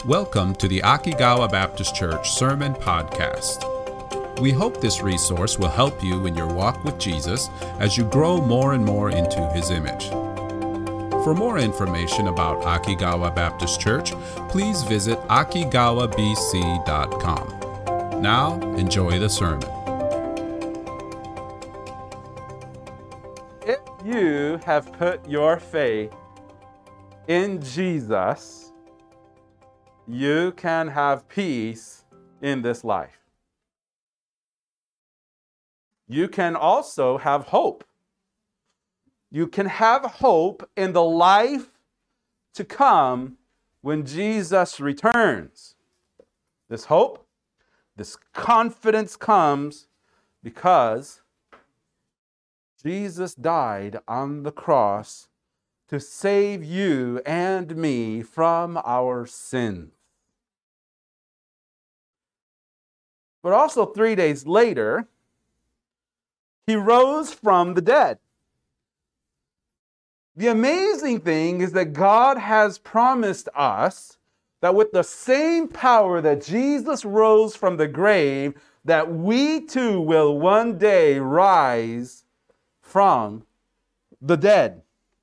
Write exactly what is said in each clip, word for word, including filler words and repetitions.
Welcome to the Akigawa Baptist Church Sermon Podcast. We hope this resource will help you in your walk with Jesus as you grow more and more into His image. For more information about Akigawa Baptist Church, please visit akigawa b c dot com. Now, enjoy the sermon. If you have put your faith in Jesus, you can have peace in this life. You can also have hope. You can have hope in the life to come when Jesus returns. This hope, this confidence comes because Jesus died on the cross to save you and me from our sins. But also three days later, He rose from the dead. The amazing thing is that God has promised us that with the same power that Jesus rose from the grave, that we too will one day rise from the dead.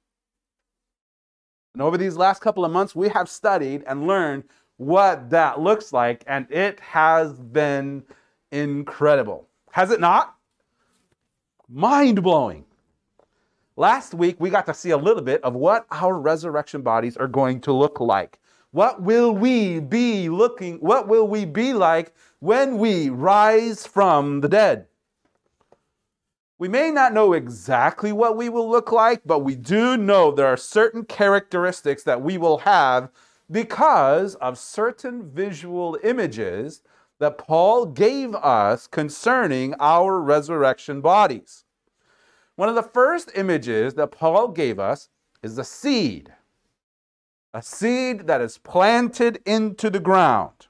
And over these last couple of months, we have studied and learned what that looks like, and it has been incredible. Has it not? Mind-blowing. Last week, we got to see a little bit of what our resurrection bodies are going to look like. What will we be looking, what will we be like when we rise from the dead? We may not know exactly what we will look like, but we do know there are certain characteristics that we will have because of certain visual images that Paul gave us concerning our resurrection bodies. One of the first images that Paul gave us is a seed. A seed that is planted into the ground.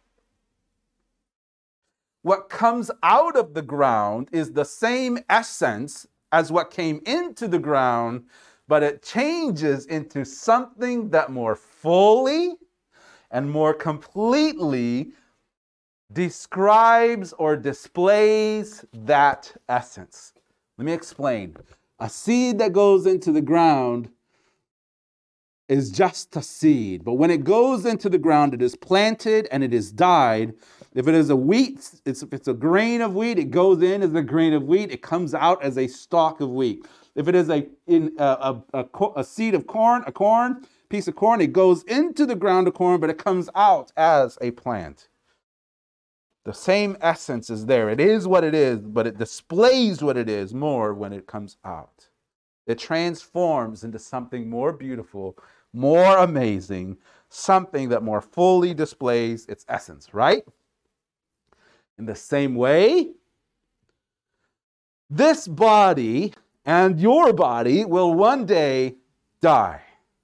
What comes out of the ground is the same essence as what came into the ground, but it changes into something that more fully and more completely describes or displays that essence. Let me explain. A seed that goes into the ground is just a seed, but when it goes into the ground, it is planted and it is dyed. If it is a wheat, it's, if it's a grain of wheat, it goes in as a grain of wheat. It comes out as a stalk of wheat. If it is a in a, a, a, a seed of corn, a corn, piece of corn, it goes into the ground of corn, but it comes out as a plant. The same essence is there. It is what it is, but it displays what it is more when it comes out. It transforms into something more beautiful, more amazing, something that more fully displays its essence, right? In the same way, this body and your body will one day die.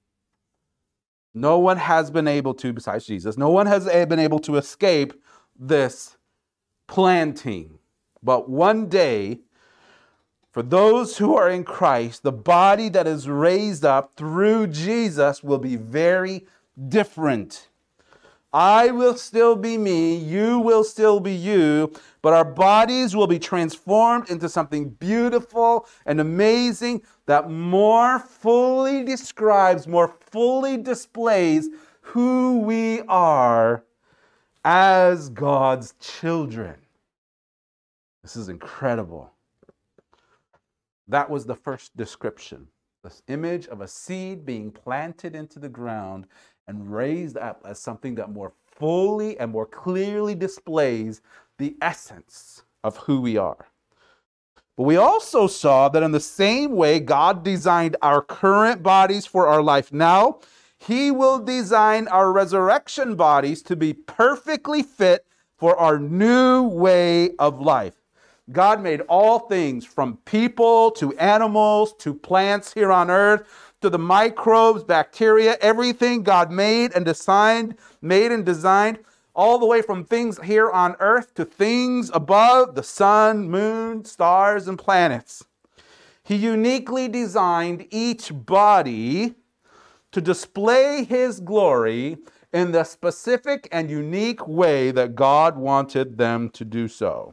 No one has been able to, besides Jesus, no one has been able to escape this planting. But one day, for those who are in Christ, the body that is raised up through Jesus will be very different. I will still be me, you will still be you, but our bodies will be transformed into something beautiful and amazing that more fully describes, more fully displays who we are as God's children. This is incredible. That was the first description. This image of a seed being planted into the ground and raised up as something that more fully and more clearly displays the essence of who we are. But we also saw that in the same way God designed our current bodies for our life now, He will design our resurrection bodies to be perfectly fit for our new way of life. God made all things from people to animals to plants here on earth to the microbes, bacteria, everything God made and designed, made and designed, all the way from things here on earth to things above, the sun, moon, stars, and planets. He uniquely designed each body to display His glory in the specific and unique way that God wanted them to do so.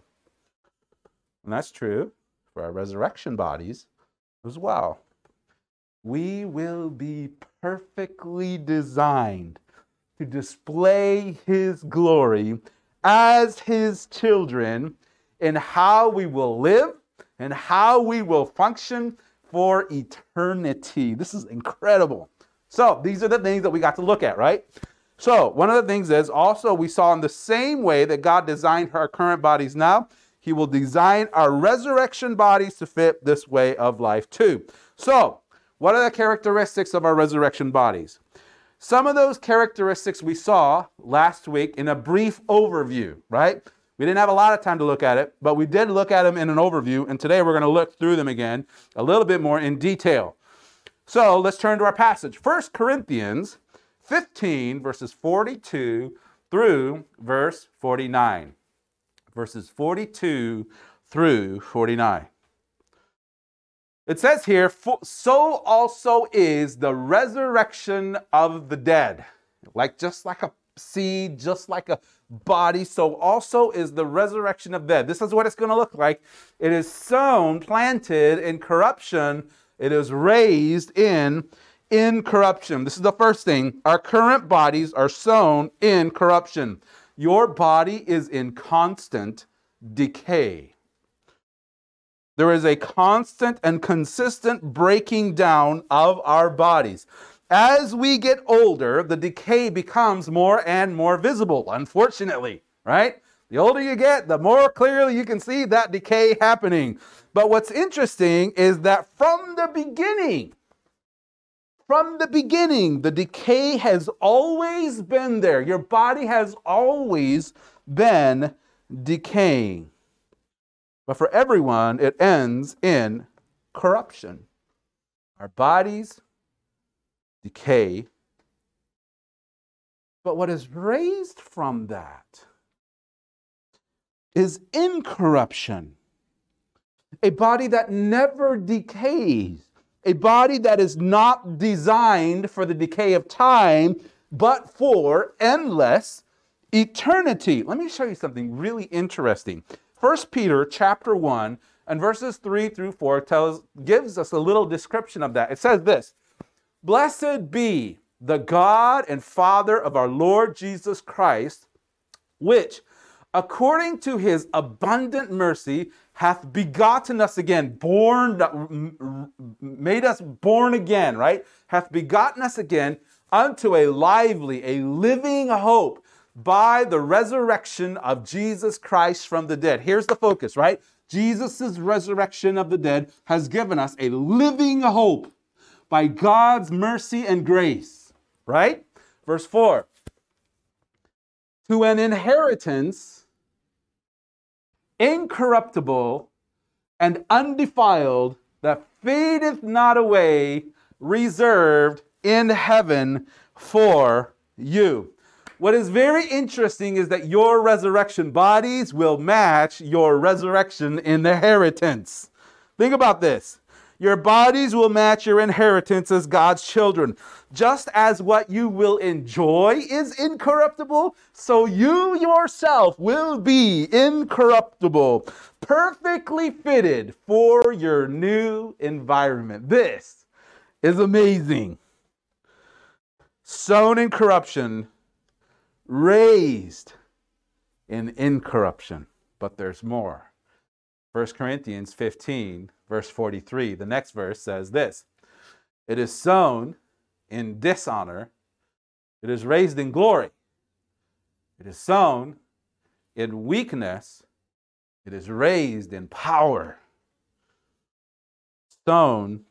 And that's true for our resurrection bodies as well. We will be perfectly designed to display His glory as His children in how we will live and how we will function for eternity. This is incredible. So these are the things that we got to look at, right? So one of the things is also we saw in the same way that God designed our current bodies now, He will design our resurrection bodies to fit this way of life too. So what are the characteristics of our resurrection bodies? Some of those characteristics we saw last week in a brief overview, right? We didn't have a lot of time to look at it, but we did look at them in an overview, and today we're going to look through them again a little bit more in detail. So let's turn to our passage. First Corinthians fifteen, verses forty-two through verse forty-nine. Verses forty-two through forty-nine. It says here, so also is the resurrection of the dead. Like just like a seed, just like a body, so also is the resurrection of dead. This is what it's going to look like. It is sown, planted in corruption. It is raised in incorruption. This is the first thing. Our current bodies are sown in corruption. Your body is in constant decay. There is a constant and consistent breaking down of our bodies. As we get older, the decay becomes more and more visible, unfortunately, right? The older you get, the more clearly you can see that decay happening. But what's interesting is that from the beginning, from the beginning, the decay has always been there. Your body has always been decaying. But for everyone, it ends in corruption. Our bodies decay. But what is raised from that is incorruption. A body that never decays. A body that is not designed for the decay of time, but for endless eternity. Let me show you something really interesting. First Peter chapter one and verses three through four tells, gives us a little description of that. It says this, "Blessed be the God and Father of our Lord Jesus Christ, which, according to His abundant mercy, hath begotten us again," born, made us born again, right? "Hath begotten us again unto a lively, a living hope, by the resurrection of Jesus Christ from the dead." Here's the focus, right? Jesus' resurrection of the dead has given us a living hope by God's mercy and grace, right? Verse four, "To an inheritance incorruptible and undefiled, that fadeth not away, reserved in heaven for you." What is very interesting is that your resurrection bodies will match your resurrection inheritance. Think about this. Your bodies will match your inheritance as God's children. Just as what you will enjoy is incorruptible, so you yourself will be incorruptible, perfectly fitted for your new environment. This is amazing. Sown in corruption, raised in incorruption. But there's more. First Corinthians fifteen, verse forty-three, the next verse says this, "It is sown in dishonor, it is raised in glory. It is sown in weakness, it is raised in power." Sown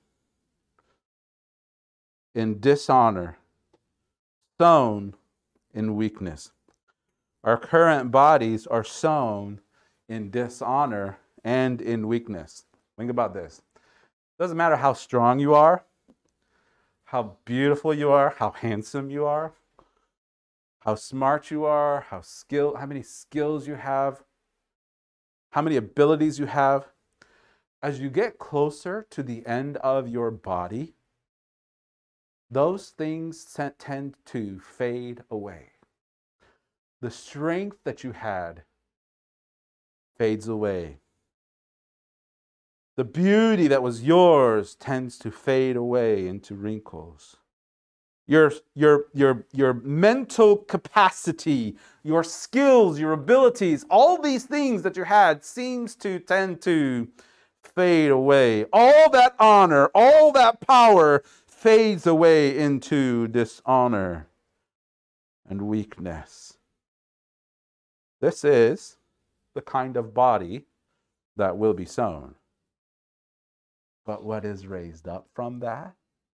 in dishonor, sown in weakness. Our current bodies are sown in dishonor and in weakness. Think about this. It doesn't matter how strong you are, how beautiful you are, how handsome you are, how smart you are, how skill, how many skills you have, how many abilities you have. As you get closer to the end of your body, those things tend to fade away. The strength that you had fades away. The beauty that was yours tends to fade away into wrinkles. Your, your, your, your mental capacity, your skills, your abilities, all these things that you had seems to tend to fade away. All that honor, all that power fades away into dishonor and weakness. This is the kind of body that will be sown. But what is raised up from that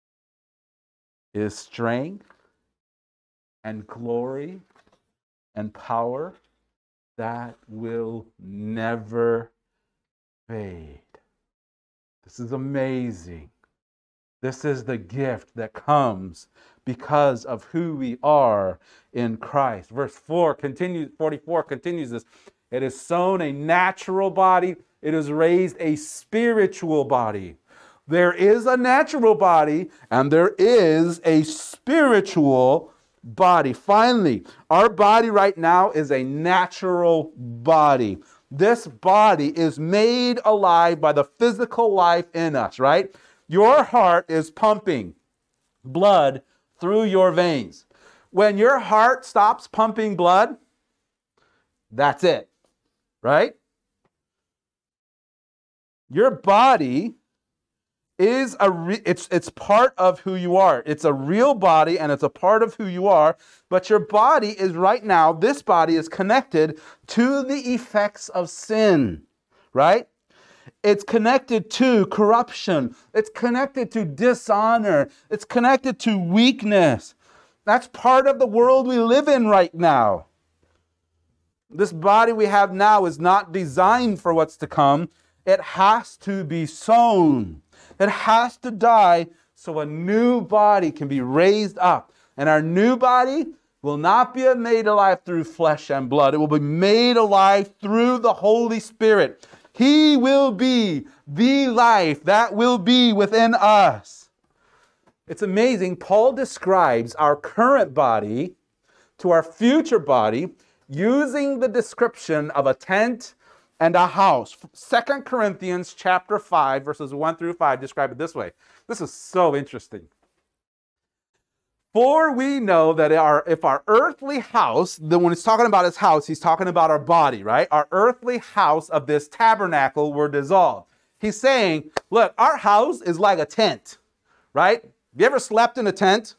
is strength and glory and power that will never fade. This is amazing. This is the gift that comes because of who we are in Christ. Verse four continues, forty-four continues this. It is sown a natural body. It is raised a spiritual body. There is a natural body and there is a spiritual body. Finally, our body right now is a natural body. This body is made alive by the physical life in us, right? Your heart is pumping blood through your veins. When your heart stops pumping blood, that's it, right? Your body is a re- it's it's part of who you are. It's a real body and it's a part of who you are, but your body is right now, this body is connected to the effects of sin, right? It's connected to corruption. It's connected to dishonor. It's connected to weakness. That's part of the world we live in right now. This body we have now is not designed for what's to come. It has to be sown. It has to die so a new body can be raised up. And our new body will not be made alive through flesh and blood. It will be made alive through the Holy Spirit. He will be the life that will be within us. It's amazing. Paul describes our current body to our future body using the description of a tent and a house. Second Corinthians chapter five, verses one through five describe it this way. This is so interesting. For we know that our, if our earthly house, then when he's talking about his house, he's talking about our body, right? Our earthly house of this tabernacle were dissolved. He's saying, look, our house is like a tent, right? Have you ever slept in a tent?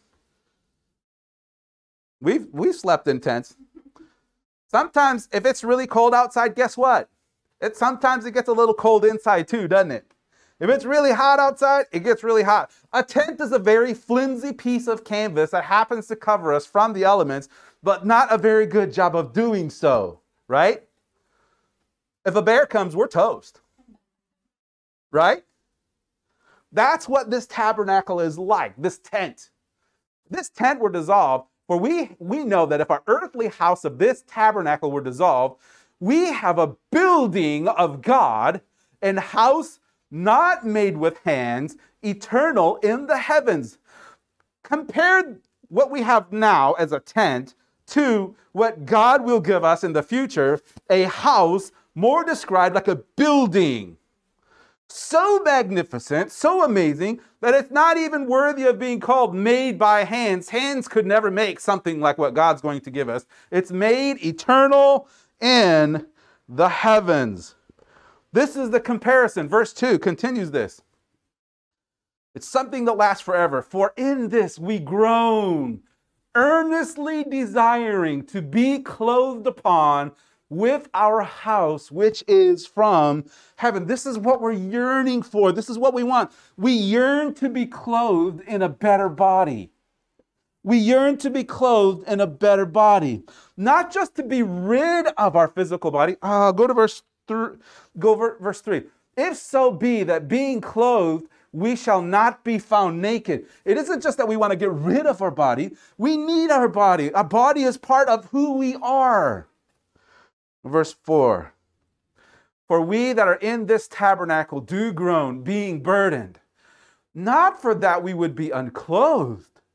We've, we've slept in tents. Sometimes if it's really cold outside, guess what? It, sometimes it gets a little cold inside too, doesn't it? If it's really hot outside, it gets really hot. A tent is a very flimsy piece of canvas that happens to cover us from the elements, but not a very good job of doing so, right? If a bear comes, we're toast, right? That's what this tabernacle is like, this tent. This tent were dissolved, for we, we know that if our earthly house of this tabernacle were dissolved, we have a building of God, an house not made with hands, eternal in the heavens. Compare what we have now as a tent to what God will give us in the future, a house more described like a building. So magnificent, so amazing, that it's not even worthy of being called made by hands. Hands could never make something like what God's going to give us. It's made eternal in the heavens. This is the comparison. Verse two continues this. It's something that lasts forever. For in this we groan, earnestly desiring to be clothed upon with our house, which is from heaven. This is what we're yearning for. This is what we want. We yearn to be clothed in a better body. We yearn to be clothed in a better body. Not just to be rid of our physical body. Uh, go to verse three. Go ver- verse three. If so be that being clothed, we shall not be found naked. It isn't just that we want to get rid of our body. We need our body. Our body is part of who we are. Verse four. For we that are in this tabernacle do groan, being burdened. Not for that we would be unclothed,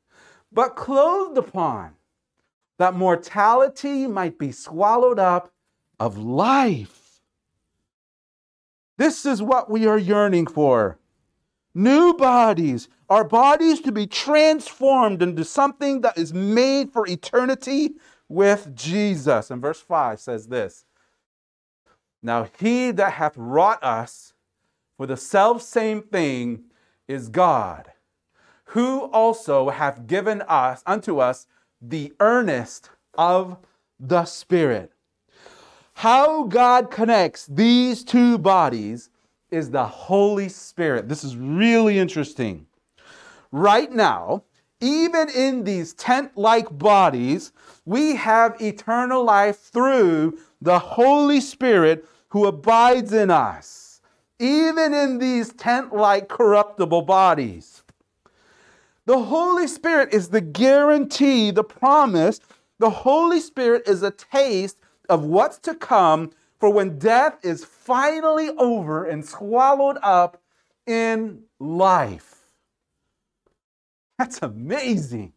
but clothed upon, that mortality might be swallowed up of life. This is what we are yearning for. New bodies, our bodies to be transformed into something that is made for eternity with Jesus. And verse five says this, now he that hath wrought us for the selfsame thing is God, who also hath given us unto us the earnest of the Spirit. How God connects these two bodies is the Holy Spirit. This is really interesting. Right now, even in these tent-like bodies, we have eternal life through the Holy Spirit who abides in us, even in these tent-like corruptible bodies. The Holy Spirit is the guarantee, the promise. The Holy Spirit is a taste of what's to come for when death is finally over and swallowed up in life. That's amazing.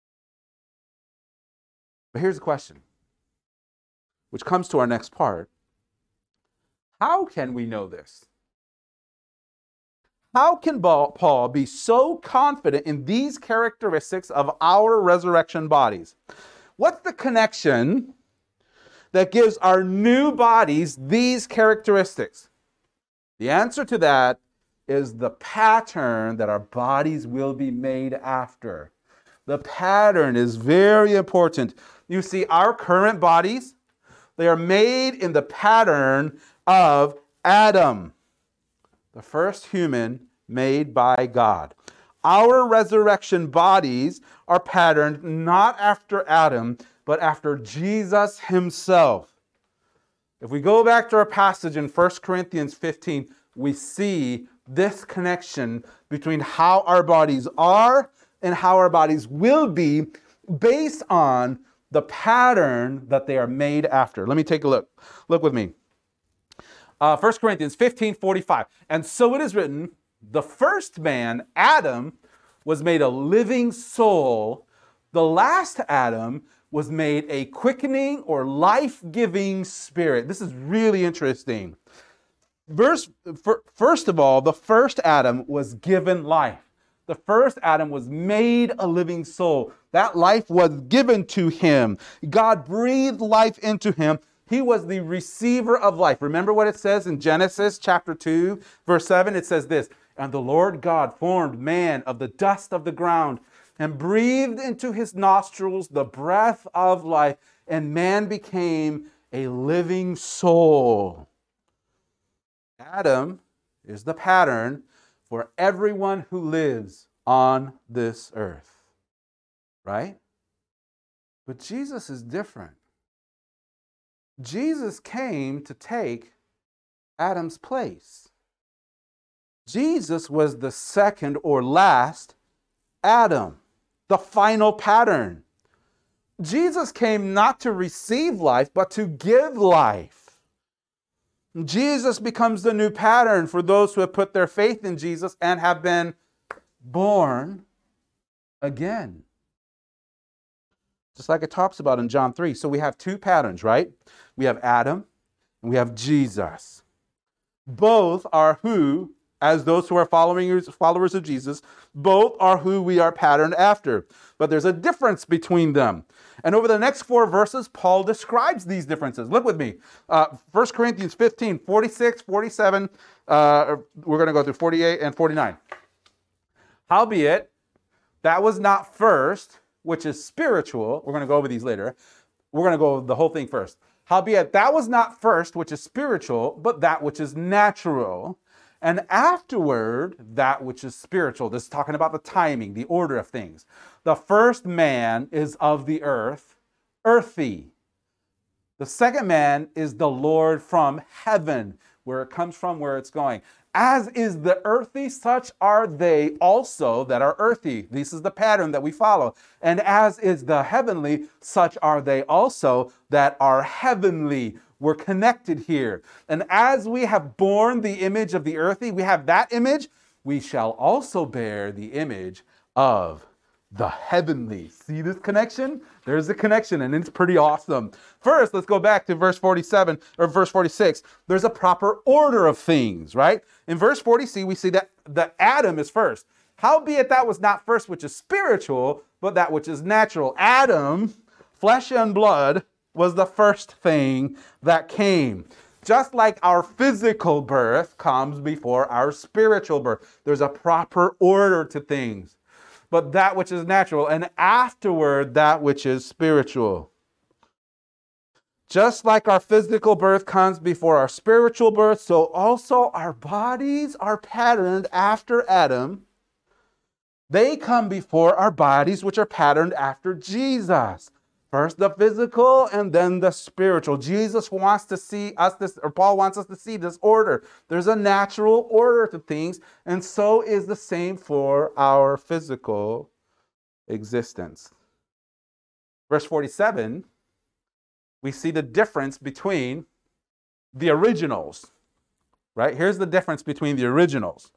But here's the question, which comes to our next part. How can we know this? How can Paul be so confident in these characteristics of our resurrection bodies? What's the connection that gives our new bodies these characteristics? The answer to that is the pattern that our bodies will be made after. The pattern is very important. You see, our current bodies, they are made in the pattern of Adam, the first human made by God. Our resurrection bodies are patterned not after Adam, but after Jesus himself. If we go back to our passage in First Corinthians fifteen, we see this connection between how our bodies are and how our bodies will be based on the pattern that they are made after. Let me take a look. Look with me. Uh, First Corinthians fifteen forty-five. And so it is written, the first man, Adam, was made a living soul. The last Adam was made a quickening or life-giving spirit. This is really interesting. Verse, first of all, the first Adam was given life. The first Adam was made a living soul. That life was given to him. God breathed life into him. He was the receiver of life. Remember what it says in Genesis chapter two, verse seven? It says this, and the Lord God formed man of the dust of the ground and breathed into his nostrils the breath of life, and man became a living soul. Adam is the pattern for everyone who lives on this earth, right? But Jesus is different. Jesus came to take Adam's place. Jesus was the second or last Adam, the final pattern. Jesus came not to receive life, but to give life. Jesus becomes the new pattern for those who have put their faith in Jesus and have been born again. Just like it talks about in John three. So we have two patterns, right? We have Adam and we have Jesus. Both are who, as those who are following followers of Jesus, both are who we are patterned after. But there's a difference between them. And over the next four verses, Paul describes these differences. Look with me. Uh, First Corinthians fifteen, forty-six, forty-seven. Uh, we're going to go through forty-eight and forty-nine. Howbeit, that was not first, which is spiritual. We're going to go over these later. We're going to go over the whole thing first. Howbeit, that was not first, which is spiritual, but that which is natural. And afterward, that which is spiritual. This is talking about the timing, the order of things. The first man is of the earth, earthy. The second man is the Lord from heaven, where it comes from, where it's going. As is the earthy, such are they also that are earthy. This is the pattern that we follow. And as is the heavenly, such are they also that are heavenly. We're connected here. And as we have borne the image of the earthy, we have that image, we shall also bear the image of the heavenly. See this connection? There's a connection, and it's pretty awesome. First, let's go back to verse forty-seven or verse forty-six. There's a proper order of things, right? In verse forty c, we see that the Adam is first. Howbeit that was not first which is spiritual, but that which is natural. Adam, flesh and blood, was the first thing that came. Just like our physical birth comes before our spiritual birth. There's a proper order to things. But that which is natural, and afterward that which is spiritual. Just like our physical birth comes before our spiritual birth, so also our bodies are patterned after Adam. They come before our bodies, which are patterned after Jesus. First the physical and then the spiritual. Jesus wants to see us this, or Paul wants us to see this order. There's a natural order to things, and so is the same for our physical existence. Verse forty-seven, we see the difference between the originals, right? Here's the difference between the originals.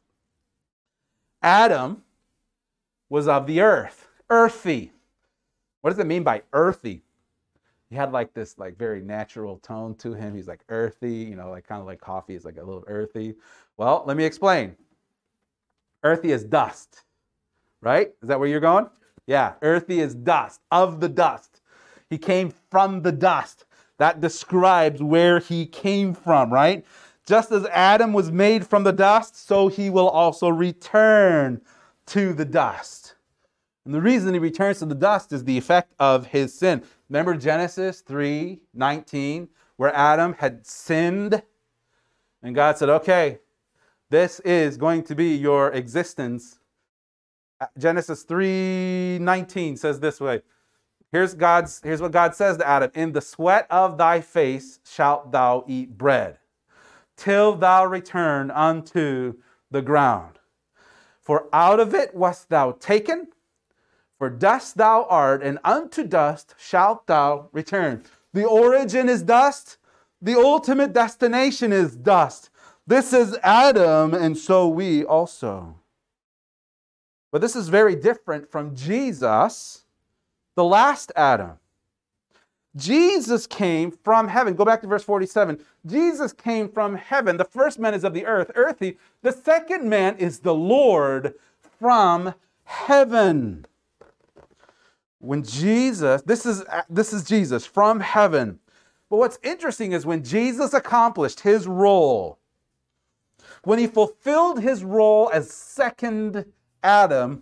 Adam was of the earth, earthy. What does it mean by earthy? He had like this like very natural tone to him. He's like earthy, you know, like kind of like coffee is like a little earthy. Well, let me explain. Earthy is dust, right? Is that where you're going? Yeah, earthy is dust, of the dust. He came from the dust. That describes where he came from, right? Just as Adam was made from the dust, so he will also return to the dust. And the reason he returns to the dust is the effect of his sin. Remember Genesis three nineteen, where Adam had sinned? And God said, okay, this is going to be your existence. Genesis three nineteen says this way. Here's God's, here's what God says to Adam. In the sweat of thy face shalt thou eat bread, till thou return unto the ground. For out of it wast thou taken, for dust thou art, and unto dust shalt thou return. The origin is dust. The ultimate destination is dust. This is Adam, and so we also. But this is very different from Jesus, the last Adam. Jesus came from heaven. Go back to verse forty-seven. Jesus came from heaven. The first man is of the earth, earthy. The second man is the Lord from heaven. When Jesus, this is, this is Jesus from heaven. But what's interesting is when Jesus accomplished his role, when he fulfilled his role as second Adam,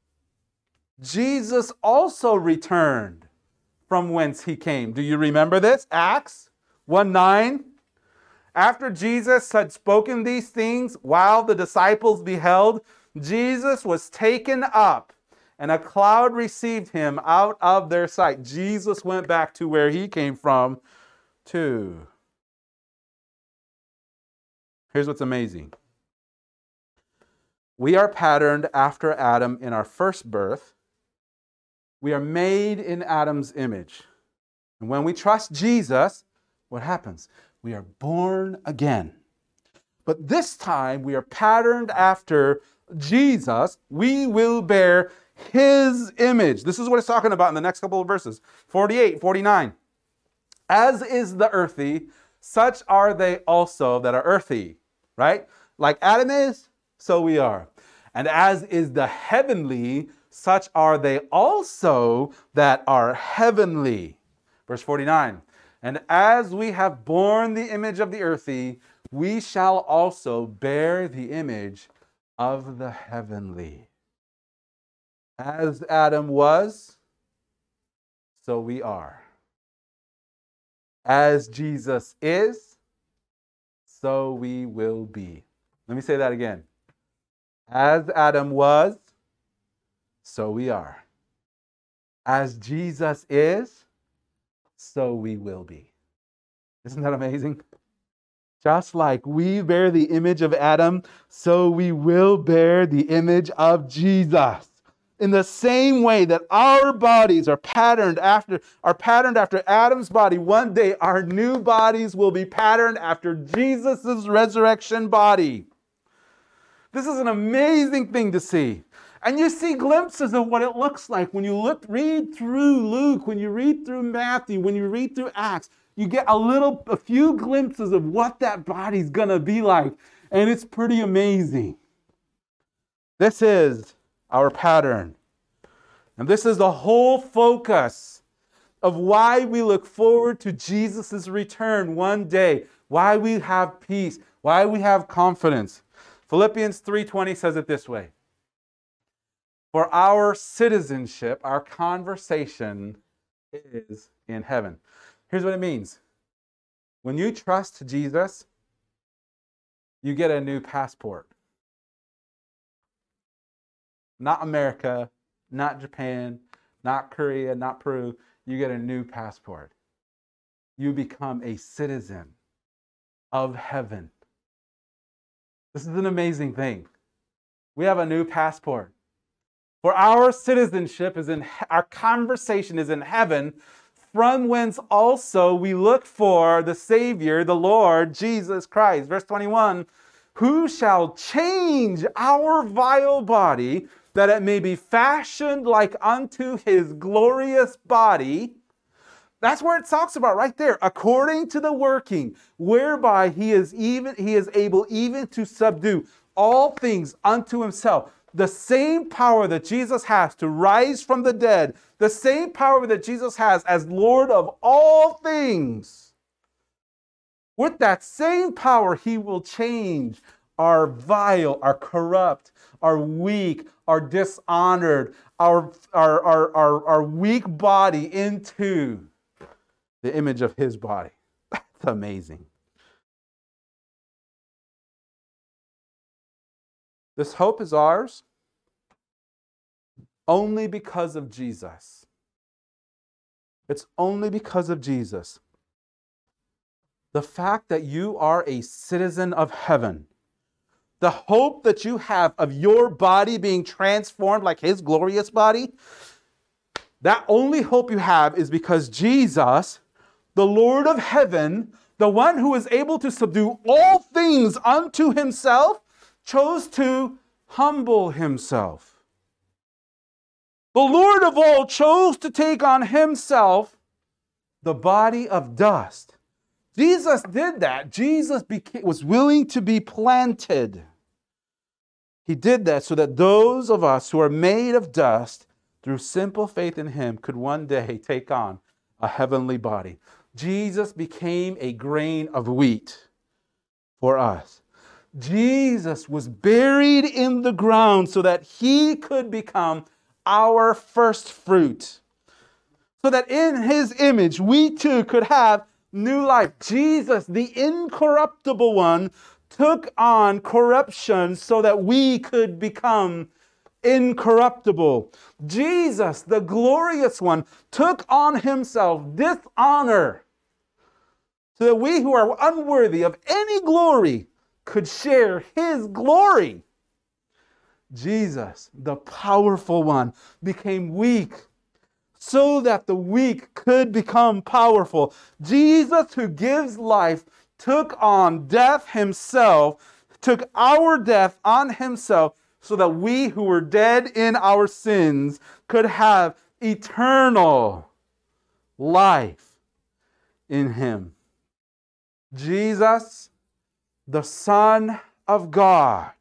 Jesus also returned from whence he came. Do you remember this? Acts one nine. After Jesus had spoken these things, while the disciples beheld, Jesus was taken up, and a cloud received him out of their sight. Jesus went back to where he came from, too. Here's what's amazing. We are patterned after Adam in our first birth. We are made in Adam's image. And when we trust Jesus, what happens? We are born again. But this time we are patterned after Jesus. We will bear his image. This is what it's talking about in the next couple of verses. forty-eight, forty-nine. As is the earthy, such are they also that are earthy. Right? Like Adam is, so we are. And as is the heavenly, such are they also that are heavenly. Verse forty-nine. And as we have borne the image of the earthy, we shall also bear the image of the heavenly. As Adam was, so we are. As Jesus is, so we will be. Let me say that again. As Adam was, so we are. As Jesus is, so we will be. Isn't that amazing? Just like we bear the image of Adam, so we will bear the image of Jesus. In the same way that our bodies are patterned after are patterned after Adam's body, one day our new bodies will be patterned after Jesus' resurrection body. This is an amazing thing to see. And you see glimpses of what it looks like when you look, read through Luke, when you read through Matthew, when you read through Acts. You get a little, a few glimpses of what that body's going to be like. And it's pretty amazing. This is our pattern. And this is the whole focus of why we look forward to Jesus' return one day. Why we have peace. Why we have confidence. Philippians three twenty says it this way. For our citizenship, our conversation is in heaven. Here's what it means. When you trust Jesus, you get a new passport. Not America, not Japan, not Korea, not Peru. You get a new passport. You become a citizen of heaven. This is an amazing thing. We have a new passport. For our citizenship is in, our conversation is in heaven, from whence also we look for the Savior, the Lord, Jesus Christ. Verse twenty-one, who shall change our vile body, that it may be fashioned like unto his glorious body. That's where it talks about right there. According to the working, whereby he is even he is able even to subdue all things unto himself. The same power that Jesus has to rise from the dead, the same power that Jesus has as Lord of all things. With that same power, he will change our vile, our corrupt, our weak, our dishonored, our, our, our, our, our weak body into the image of his body. That's amazing. This hope is ours only because of Jesus. It's only because of Jesus. The fact that you are a citizen of heaven, the hope that you have of your body being transformed like his glorious body, that only hope you have is because Jesus, the Lord of heaven, the one who is able to subdue all things unto himself, chose to humble himself. The Lord of all chose to take on himself the body of dust. Jesus did that. Jesus became, was willing to be planted. He did that so that those of us who are made of dust, through simple faith in him, could one day take on a heavenly body. Jesus became a grain of wheat for us. Jesus was buried in the ground so that he could become our first fruit. So that in his image, we too could have new life. Jesus, the incorruptible one, took on corruption so that we could become incorruptible. Jesus, the glorious one, took on himself dishonor so that we who are unworthy of any glory could share his glory. Jesus, the powerful one, became weak so that the weak could become powerful. Jesus, who gives life, took on death himself, took our death on himself, so that we who were dead in our sins could have eternal life in him. Jesus, the Son of God,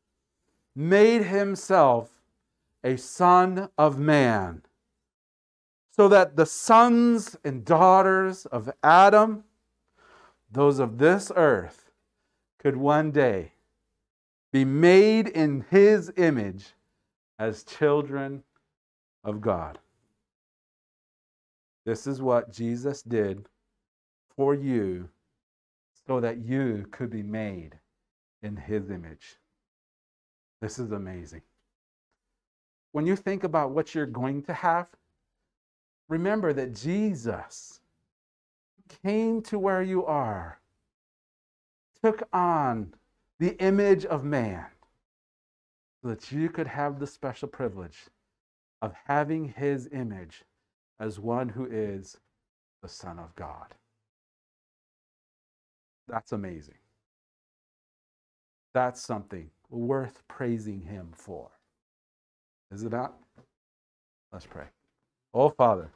made himself a son of man, so that the sons and daughters of Adam, those of this earth, could one day be made in his image as children of God. This is what Jesus did for you so that you could be made in his image. This is amazing. When you think about what you're going to have, remember that Jesus came to where you are, took on the image of man, so that you could have the special privilege of having his image as one who is the Son of God. That's amazing. That's something worth praising him for. Is it not? Let's pray. Oh, Father,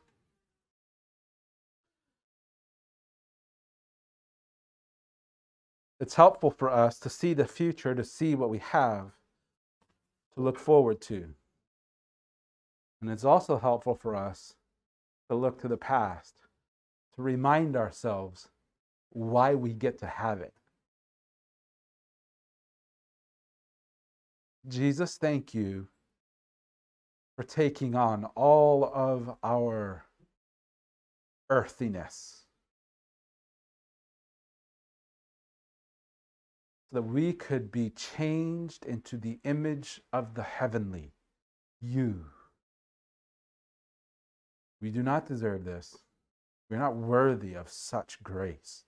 it's helpful for us to see the future, to see what we have to look forward to. And it's also helpful for us to look to the past, to remind ourselves why we get to have it. Jesus, thank you for taking on all of our earthiness, so that we could be changed into the image of the heavenly, you. We do not deserve this. We're not worthy of such grace.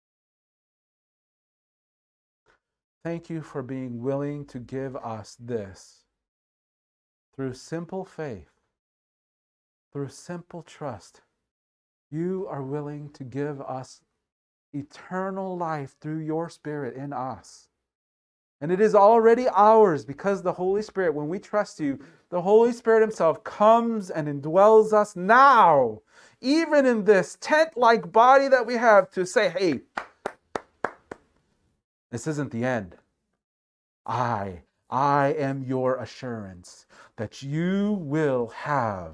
Thank you for being willing to give us this through simple faith, through simple trust. You are willing to give us eternal life through your Spirit in us. And it is already ours because the Holy Spirit, when we trust you, the Holy Spirit himself comes and indwells us now, even in this tent-like body that we have, to say, hey, this isn't the end. I, I am your assurance that you will have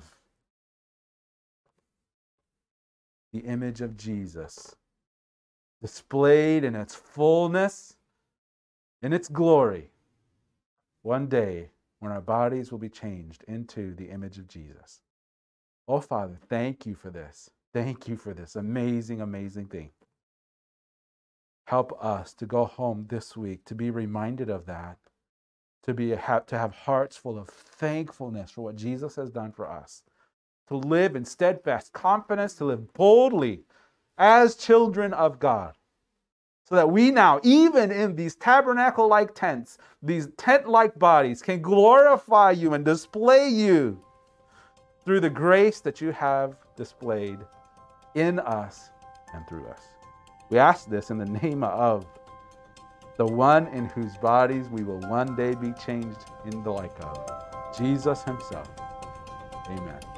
the image of Jesus displayed in its fullness, in its glory, one day when our bodies will be changed into the image of Jesus. Oh, Father, thank you for this. Thank you for this amazing, amazing thing. Help us to go home this week to be reminded of that, to be to have hearts full of thankfulness for what Jesus has done for us, to live in steadfast confidence, to live boldly as children of God, so that we now, even in these tabernacle-like tents, these tent-like bodies, can glorify you and display you through the grace that you have displayed in us and through us. We ask this in the name of the one in whose bodies we will one day be changed in the like of, Jesus himself. Amen.